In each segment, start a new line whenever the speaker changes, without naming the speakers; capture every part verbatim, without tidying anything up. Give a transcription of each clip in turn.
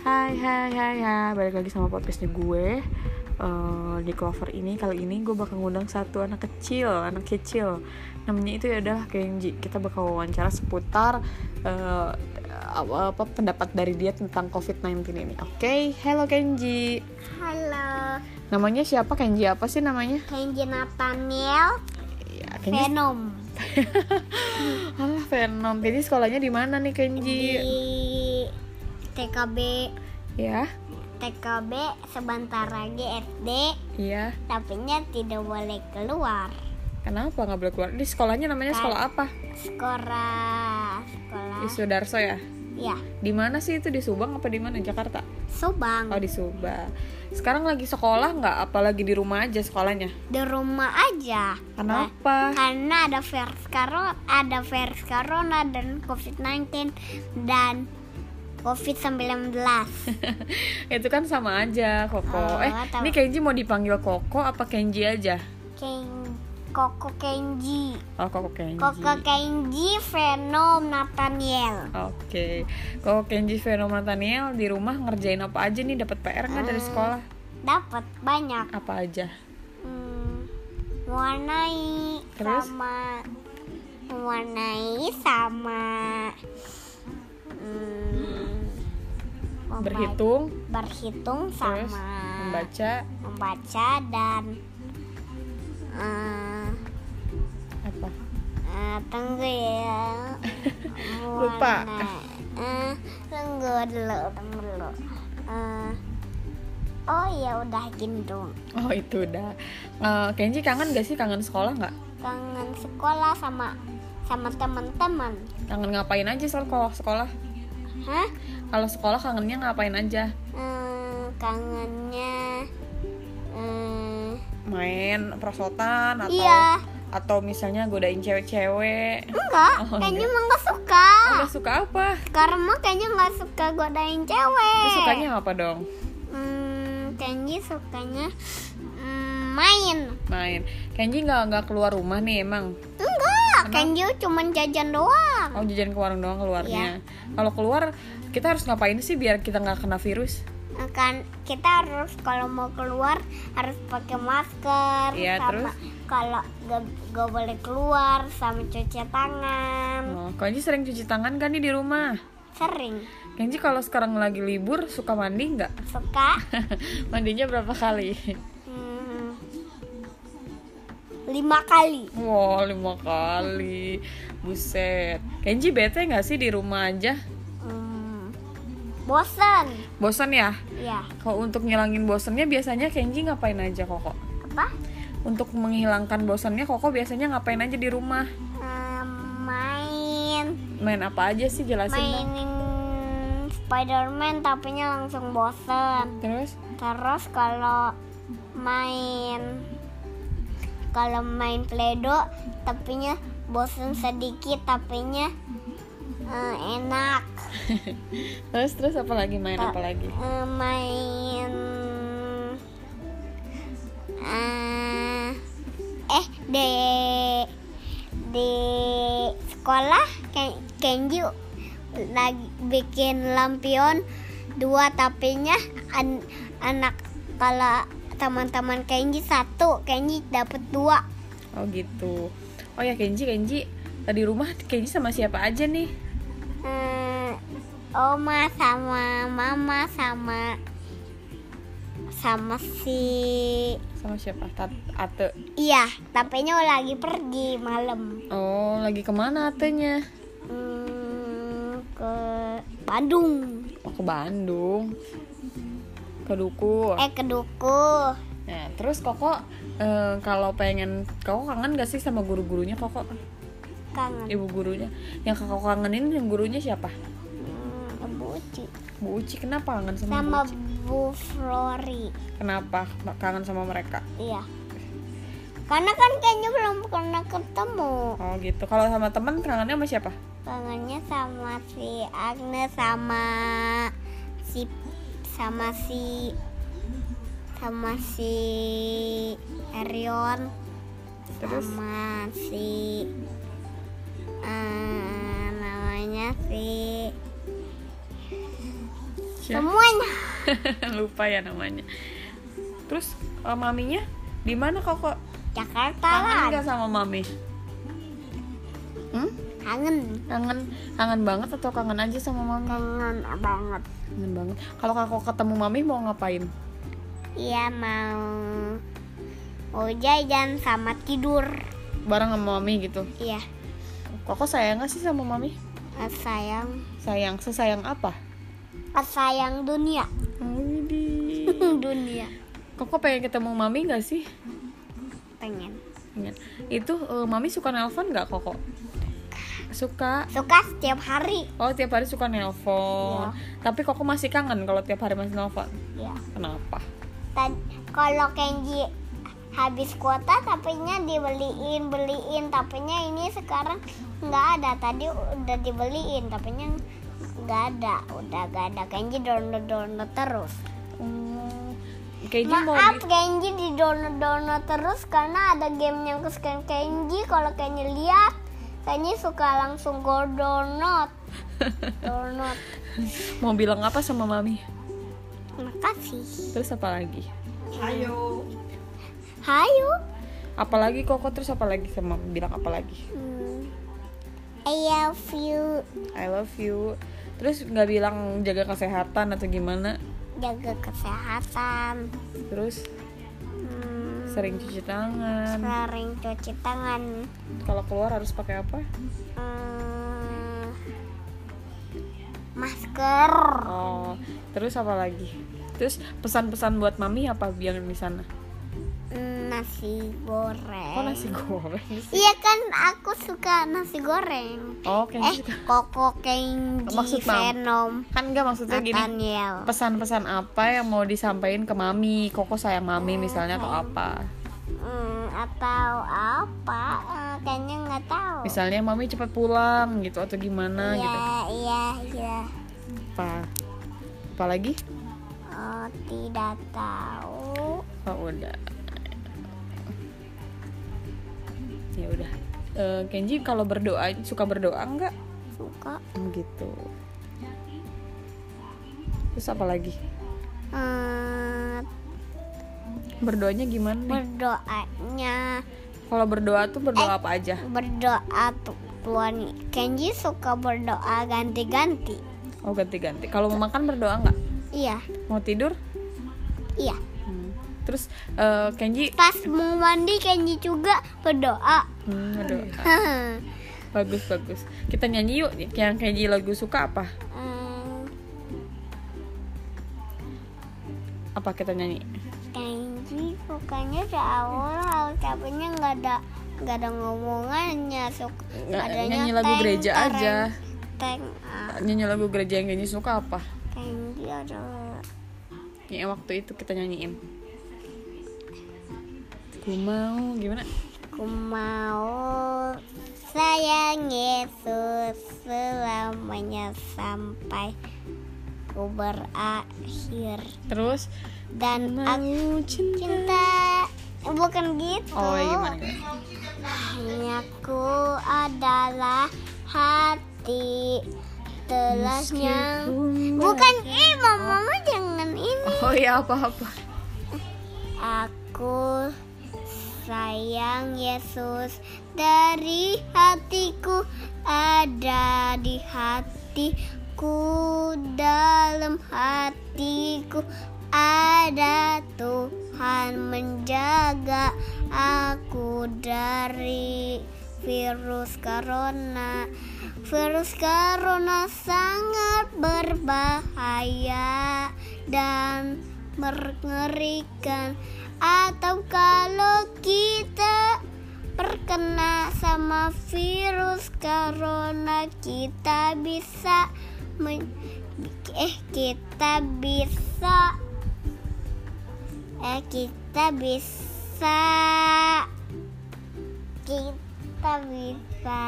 Hai hai hai hai, balik lagi sama podcastnya gue. uh, Di Clover ini, kali ini gue bakal ngundang satu anak kecil, anak kecil. Namanya itu adalah Kenji. Kita bakal wawancara seputar uh, apa, apa pendapat dari dia tentang covid sembilan belas ini. Oke, okay? Hello Kenji.
Halo.
Namanya siapa? Kenji apa sih namanya?
Kenji Nathaniel.
Ya, Kenji...
Venom.
Alah, Venom. Kenji sekolahnya di mana nih Kenji?
Di T K B.
Ya.
T K B sebentar lagi S D.
Iya.
Tapi nya tidak boleh keluar.
Kenapa nggak boleh keluar? Di sekolahnya namanya
Kan,
sekolah apa?
Sekolah. Sekolah.
Di Sudarso ya?
Ya.
Di mana sih itu, di Subang apa di mana? Jakarta?
Subang.
Oh, di Subang. Sekarang lagi sekolah nggak? Apalagi di rumah aja sekolahnya?
Di rumah aja.
Kenapa?
Karena ada virus corona, ada virus corona dan covid sembilan belas dan covid sembilan belas.
Itu kan sama aja, Koko.
Oh,
eh,
tahu.
ini Kenji mau dipanggil Koko apa Kenji aja?
Ken Koko Kenji.
Oh, Koko Kenji.
Koko Kenji Venom Nathaniel.
Oke. Koko Kenji Venom Nathaniel di rumah ngerjain apa aja nih? Dapat P R nggak dari sekolah?
Dapat banyak.
Apa aja?
Hmm, mewarnai
Terus?
sama mewarnai sama hmm, memba-
Berhitung,
berhitung
terus
sama
membaca,
membaca dan eh,
apa?
eh, tunggu ya.
Lupa.
Mewarnai. Eh, tunggu dulu, tunggu dulu. Eh, oh ya udah gini dong.
Oh, itu udah. Uh, Kenji kangen gak sih? Kangen sekolah nggak?
Kangen sekolah sama sama teman-teman.
Kangen ngapain aja soal kalau sekolah?
Hah?
Kalau sekolah kangennya ngapain aja?
Eh, kangennya eh,
Main prosotan atau
iya.
atau misalnya godain cewek-cewek?
Enggak,
Oh,
kayaknya
enggak.
emang gak suka.
Oh, gak suka apa?
Karena kayaknya gak suka godain cewek.
Terus sukanya apa dong?
Hmm, Kenji sukanya hmm, main.
Main. Kenji nggak nggak keluar rumah nih emang?
Enggak,
Kenapa?
Kenji cuma jajan doang.
Oh, jajan ke warung doang keluarnya.
Iya.
Kalau keluar kita harus ngapain sih biar kita nggak kena virus?
Kan kita harus kalau mau keluar harus pakai masker.
Iya,
sama
terus?
kalau gak, gak boleh keluar sama cuci tangan.
Oh, Kenji sering cuci tangan kan nih di rumah?
Sering.
Kenji kalau sekarang lagi libur suka mandi nggak?
Suka.
Mandinya berapa kali?
Hmm, lima kali.
Wow, lima kali. Buset. Kenji bete nggak sih di rumah aja?
Hmm, bosan.
Bosan ya?
Ya.
Kalau untuk ngilangin bosannya biasanya Kenji ngapain aja, Koko?
Apa?
Untuk menghilangkan bosannya Koko biasanya ngapain aja di rumah?
Hmm, main.
Main apa aja sih, jelasin dong.
Mainin Spider-Man tapinya langsung bosan.
Terus?
Terus kalau main kalau main Play-Doh tapinya bosan sedikit tapinya eh, enak.
terus terus apa lagi, main
Ta-
apa lagi?
eh, main eh, eh di di sekolah Ken- Kenji lagi bikin lampion dua tapinya an- anak kalau teman-teman Kenji satu, Kenji dapat dua.
Oh gitu. Oh ya Kenji, Kenji tadi rumah Kenji sama siapa aja nih?
Hmm, Oma sama Mama sama sama si
Sama siapa? Tat Ate.
iya, tapinya lagi pergi malam.
Oh, lagi kemana Atenya?
Hmm, ke Bandung.
Oh, ke Bandung. Ke Duku.
Eh ke Duku.
Nah, terus Koko eh, kalau pengen, Koko kangen gak sih sama guru-gurunya Koko?
Kangen.
Ibu gurunya. Yang Koko kangenin yang gurunya siapa?
Hmm, Ibu Uci.
Bu Uci. Kenapa kangen sama,
Sama
Bu Uci?
Bu Flori.
Kenapa kangen sama mereka?
Iya. Karena kan kayaknya belum pernah ketemu.
Oh gitu. Kalau sama teman kangennya sama siapa?
Kangennya sama si Agnes sama si sama si sama si Erion.
Terus?
Sama si eh, namanya si semuanya.
Lupa ya namanya. Terus uh, maminya di mana Koko?
Jakarta
Kangen
lah.
nggak sama mami? Hmm?
Kangen.
Kangen, kangen banget atau kangen aja sama mami?
Kangen banget.
Kangen banget. Kalau Koko ketemu mami mau ngapain?
Iya mau mau jajan sama tidur.
Bareng sama mami gitu.
Iya.
Koko sayang nggak sih sama mami?
Sayang.
Sayang, sesayang apa?
Sayang dunia.
Widih.
Dunia.
Koko pengen ketemu mami nggak sih?
Pengen.
Pengen. Itu uh, mami suka nelpon nggak Koko? Suka.
Suka setiap hari.
Oh tiap hari suka nelpon. Tapi Koko masih kangen kalau tiap hari masih nelpon.
Iya.
Kenapa?
Tad- kalau Kenji habis kuota tapenya dibeliin beliin tapenya ini sekarang nggak ada. Tadi udah dibeliin tapenya nggak ada, udah nggak ada. Kenji download download terus.
Hmm, Kenji mau
Maaf
di-
Kenji di download download terus karena ada game yang kesukaan Kenji. Kalau Kenji lihat Kenji suka langsung go download download.
mau bilang apa sama mami?
Makasih.
Terus apa lagi?
Hayo.
Apalagi Koko terus apa lagi sama bilang apa lagi?
Hmm. I love you.
I love you. Terus nggak bilang jaga kesehatan atau gimana?
Jaga kesehatan.
Terus
Hmm.
sering cuci tangan.
Sering cuci tangan.
Kalau keluar harus pakai apa?
Hmm. Masker.
Oh, terus apa lagi? Terus pesan-pesan buat mami apa yang di sana?
Hmm, Nasi goreng.
Kok nasi goreng sih?
Iya kan aku suka nasi goreng.
Oh,
Eh,
Kenji suka.
Koko Kenji
Maksud Mam.
Venom
Kan enggak maksudnya gini.
Nathaniel.
Pesan-pesan apa yang mau disampaikan ke mami? Koko sayang mami misalnya atau apa?
Hmm, atau apa? Eh, kayaknya nggak tahu.
Misalnya mami cepat pulang gitu atau gimana
Iya,
gitu.
iya, iya.
Apa? Apa lagi?
Oh, tidak tahu.
Oh, udah. Ya udah. Eh, Kenji kalau berdoa suka berdoa enggak?
Suka.
Gitu. Terus apa lagi?
Hmm,
Berdoanya gimana nih?
berdoanya
Kalau berdoa tuh berdoa
Eh.
apa aja?
berdoa tuh Tuhan. Kenji suka berdoa ganti-ganti.
Oh, ganti-ganti. Kalau mau makan berdoa enggak?
Iya,
Mau tidur?
iya.
Hmm. Terus eh, Kenji
Pas mau mandi Kenji juga berdoa.
hmm, berdoa. Bagus bagus. Kita nyanyi yuk. Yang Kenji lagu suka apa?
Hmm,
Apa kita nyanyi?
Kenji sukanya awal capeknya nggak ada nggak ada ngomongannya. Suka
Nggak,
adanya
nyanyi lagu
teng,
gereja
tereng,
aja.
Teng, ah,
Nyanyi lagu gereja yang Kenji suka apa?
Kenji ada.
Ya waktu itu kita nyanyiin. Ku mau gimana?
Ku mau sayang Yesus selamanya sampai ku berakhir
Terus
dan aku
mau cinta.
cinta. Bukan gitu.
Oh, ya gimana?
Hanya ku adalah hati telasnya.
Meskipun
Bukan eh mama, mama jangan ini.
Oh ya apa-apa.
Aku sayang Yesus dari hatiku, ada di hatiku, dalam hatiku ada Tuhan menjaga aku dari virus corona. Virus corona sangat berbahaya dan mengerikan. Atau kalau kita terkena sama virus corona, kita bisa men- eh kita bisa eh kita bisa kita bisa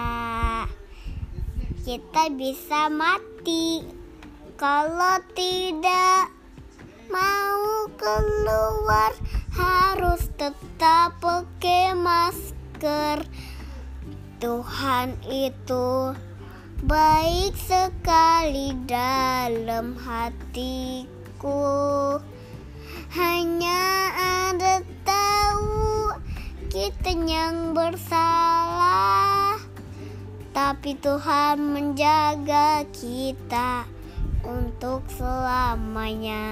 kita bisa mati kalau tidak mau keluar, harus tetap pakai masker. Tuhan itu baik sekali. sekali dalam hatiku. Hanya ada tahu kita yang bersalah, tapi Tuhan menjaga kita untuk selamanya.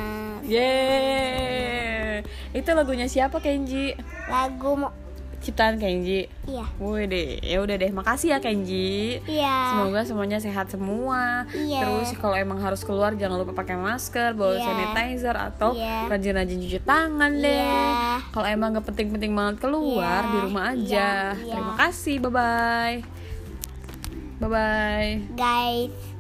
Yeay. Itu lagunya siapa, Kenji?
Lagu mo-
Ciptaan Kenji.
Iya.
Woi deh, ya udah deh, makasih ya Kenji.
Iya.
Semoga semuanya sehat semua.
Iya.
Terus kalau emang harus keluar jangan lupa pakai masker, bawa
Iya.
sanitizer atau
Iya.
rajin-rajin cuci tangan deh.
Iya.
Kalau emang gak penting-penting banget keluar,
Iya.
di rumah aja.
Iya. Iya.
Terima kasih, bye bye. Bye bye.
Guys.